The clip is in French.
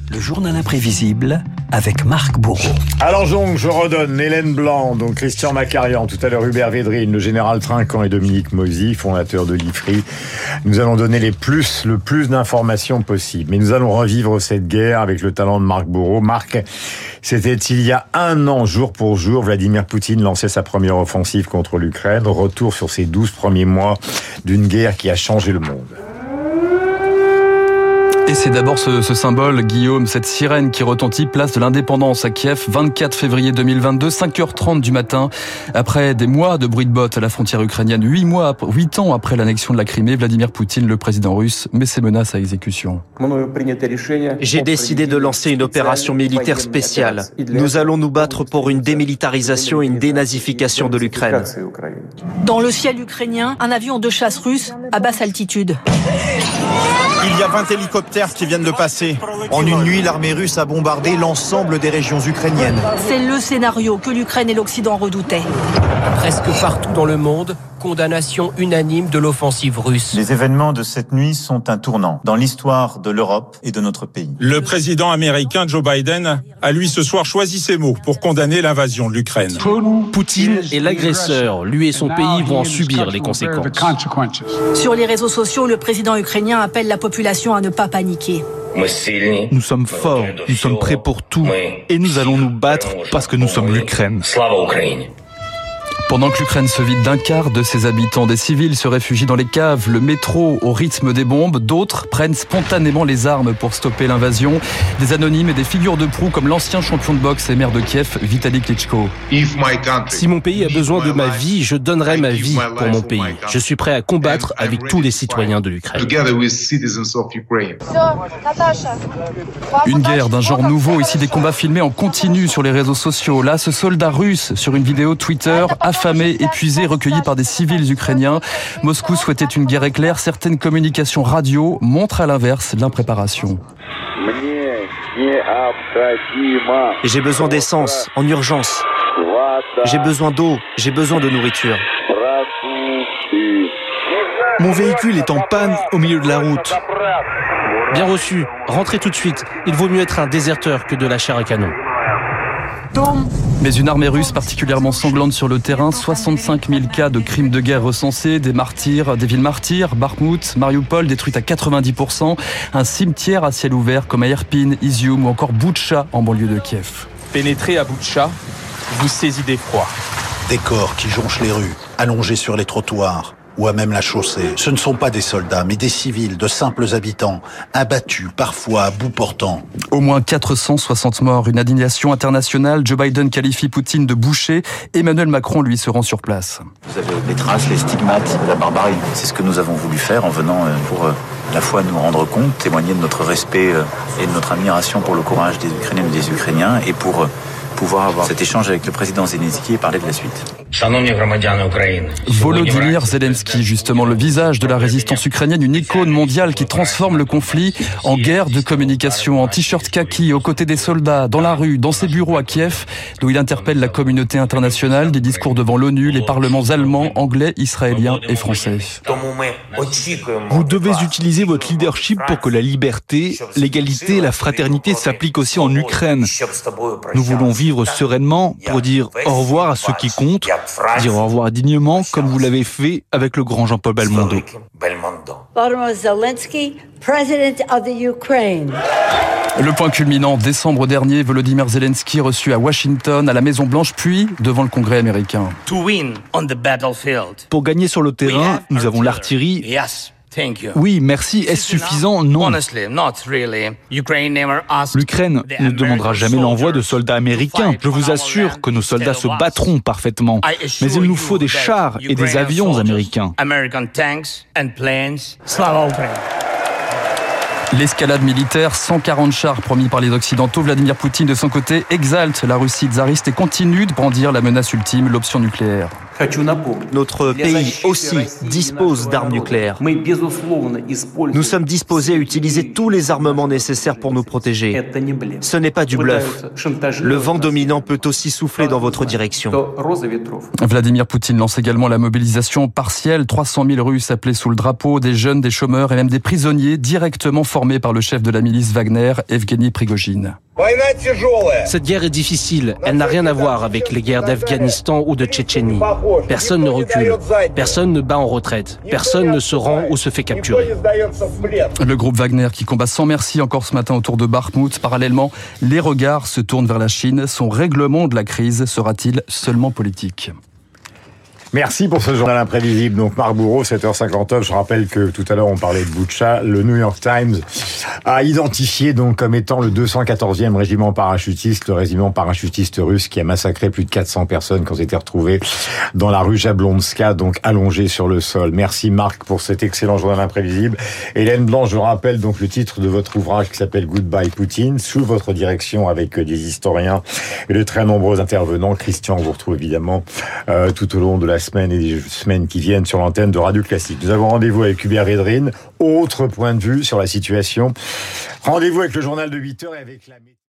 Le journal imprévisible avec Marc Bourreau. Alors donc, je redonne Hélène Blanc, donc Christian Macarian, tout à l'heure Hubert Védrine, le général Trinquant et Dominique Mozy, fondateur de l'IFRI. Nous allons donner le plus d'informations possible. Mais nous allons revivre cette guerre avec le talent de Marc Bourreau. Marc, c'était il y a un an, jour pour jour, Vladimir Poutine lançait sa première offensive contre l'Ukraine. Retour sur ces 12 premiers mois d'une guerre qui a changé le monde. Et c'est d'abord ce symbole, Guillaume, cette sirène qui retentit place de l'indépendance à Kiev, 24 février 2022, 5h30 du matin. Après des mois de bruit de bottes à la frontière ukrainienne, 8 ans après l'annexion de la Crimée, Vladimir Poutine, le président russe, met ses menaces à exécution. J'ai décidé de lancer une opération militaire spéciale. Nous allons nous battre pour une démilitarisation et une dénazification de l'Ukraine. Dans le ciel ukrainien, un avion de chasse russe à basse altitude. Il y a 20 hélicoptères qui viennent de passer. En une nuit, l'armée russe a bombardé l'ensemble des régions ukrainiennes. C'est le scénario que l'Ukraine et l'Occident redoutaient. Presque partout dans le monde, condamnation unanime de l'offensive russe. Les événements de cette nuit sont un tournant dans l'histoire de l'Europe et de notre pays. Le président américain Joe Biden a lui ce soir choisi ses mots pour condamner l'invasion de l'Ukraine. Poutine est l'agresseur. Lui et son pays vont en subir les conséquences. Sur les réseaux sociaux, le président ukrainien appelle la population à ne pas paniquer. Nous sommes forts, nous sommes prêts pour tout et nous allons nous battre parce que nous sommes l'Ukraine. Pendant que l'Ukraine se vide d'un quart de ses habitants, des civils se réfugient dans les caves, le métro au rythme des bombes. D'autres prennent spontanément les armes pour stopper l'invasion. Des anonymes et des figures de proue comme l'ancien champion de boxe et maire de Kiev, Vitali Klitschko. Si mon pays a besoin de ma vie, je donnerai ma vie pour mon pays. Je suis prêt à combattre avec tous les citoyens de l'Ukraine. Une guerre d'un genre nouveau, ici des combats filmés en continu sur les réseaux sociaux. Là, ce soldat russe sur une vidéo Twitter, affamé, épuisé, recueilli par des civils ukrainiens. Moscou souhaitait une guerre éclair. Certaines communications radio montrent à l'inverse l'impréparation. J'ai besoin d'essence, en urgence. J'ai besoin d'eau, j'ai besoin de nourriture. Mon véhicule est en panne au milieu de la route. Bien reçu, rentrez tout de suite. Il vaut mieux être un déserteur que de la chair à canon. Mais une armée russe particulièrement sanglante sur le terrain, 65 000 cas de crimes de guerre recensés, des villes martyrs, Bakhmout, Mariupol détruites à 90%, un cimetière à ciel ouvert comme à Irpin, Izium ou encore Boutcha en banlieue de Kiev. Pénétrez à Boutcha, vous saisit d'effroi. Des corps qui jonchent les rues, allongés sur les trottoirs ou à même la chaussée. Ce ne sont pas des soldats, mais des civils, de simples habitants, abattus, parfois à bout portant. Au moins 460 morts, une indignation internationale. Joe Biden qualifie Poutine de boucher. Emmanuel Macron, lui, se rend sur place. Vous avez les traces, les stigmates de la barbarie. C'est ce que nous avons voulu faire en venant pour à la fois nous rendre compte, témoigner de notre respect et de notre admiration pour le courage des Ukrainiennes et des Ukrainiens et pour pouvoir avoir cet échange avec le président Zelensky et parler de la suite. Volodymyr Zelensky, justement, le visage de la résistance ukrainienne, une icône mondiale qui transforme le conflit en guerre de communication, en t-shirt kaki, aux côtés des soldats, dans la rue, dans ses bureaux à Kiev, d'où il interpelle la communauté internationale, des discours devant l'ONU, les parlements allemands, anglais, israéliens et français. Vous devez utiliser votre leadership pour que la liberté, l'égalité, la fraternité s'appliquent aussi en Ukraine. Nous voulons vivre sereinement pour dire au revoir à ceux qui comptent, dire au revoir dignement comme vous l'avez fait avec le grand Jean-Paul Belmondo. Volodymyr Zelensky, President of the Ukraine. Le point culminant, décembre dernier, Volodymyr Zelensky reçu à Washington, à la Maison-Blanche, puis devant le Congrès américain. Pour gagner sur le terrain, nous avons l'artillerie. Oui, merci. Est-ce suffisant? Non. L'Ukraine ne demandera jamais l'envoi de soldats américains. Je vous assure que nos soldats se battront parfaitement. Mais il nous faut des chars et des avions américains. L'escalade militaire, 140 chars promis par les Occidentaux. Vladimir Poutine, de son côté, exalte la Russie tsariste et continue de brandir la menace ultime, l'option nucléaire. Notre pays aussi dispose d'armes nucléaires. Nous sommes disposés à utiliser tous les armements nécessaires pour nous protéger. Ce n'est pas du bluff. Le vent dominant peut aussi souffler dans votre direction. Vladimir Poutine lance également la mobilisation partielle. 300 000 Russes appelés sous le drapeau, des jeunes, des chômeurs et même des prisonniers directement formés par le chef de la milice Wagner, Evgeny Prigojine. Cette guerre est difficile. Elle n'a rien à voir avec les guerres d'Afghanistan ou de Tchétchénie. Personne ne recule. Personne ne bat en retraite. Personne ne se rend ou se fait capturer. Le groupe Wagner qui combat sans merci encore ce matin autour de Bakhmout. Parallèlement, les regards se tournent vers la Chine. Son règlement de la crise sera-t-il seulement politique ? Merci pour ce journal imprévisible. Donc Marc Bourreau, 7h59. Je rappelle que tout à l'heure on parlait de Boutcha. Le New York Times a identifié donc comme étant le 214e régiment parachutiste, le régiment parachutiste russe qui a massacré plus de 400 personnes quand été retrouvées dans la rue Jablonska, donc allongées sur le sol. Merci Marc pour cet excellent journal imprévisible. Hélène Blanc, je rappelle donc le titre de votre ouvrage qui s'appelle Goodbye Poutine, sous votre direction avec des historiens et de très nombreux intervenants. Christian, on vous retrouve évidemment tout au long de la semaine et des semaines qui viennent sur l'antenne de Radio Classique. Nous avons rendez-vous avec Hubert Védrine, autre point de vue sur la situation. Rendez-vous avec le journal de 8h et avec la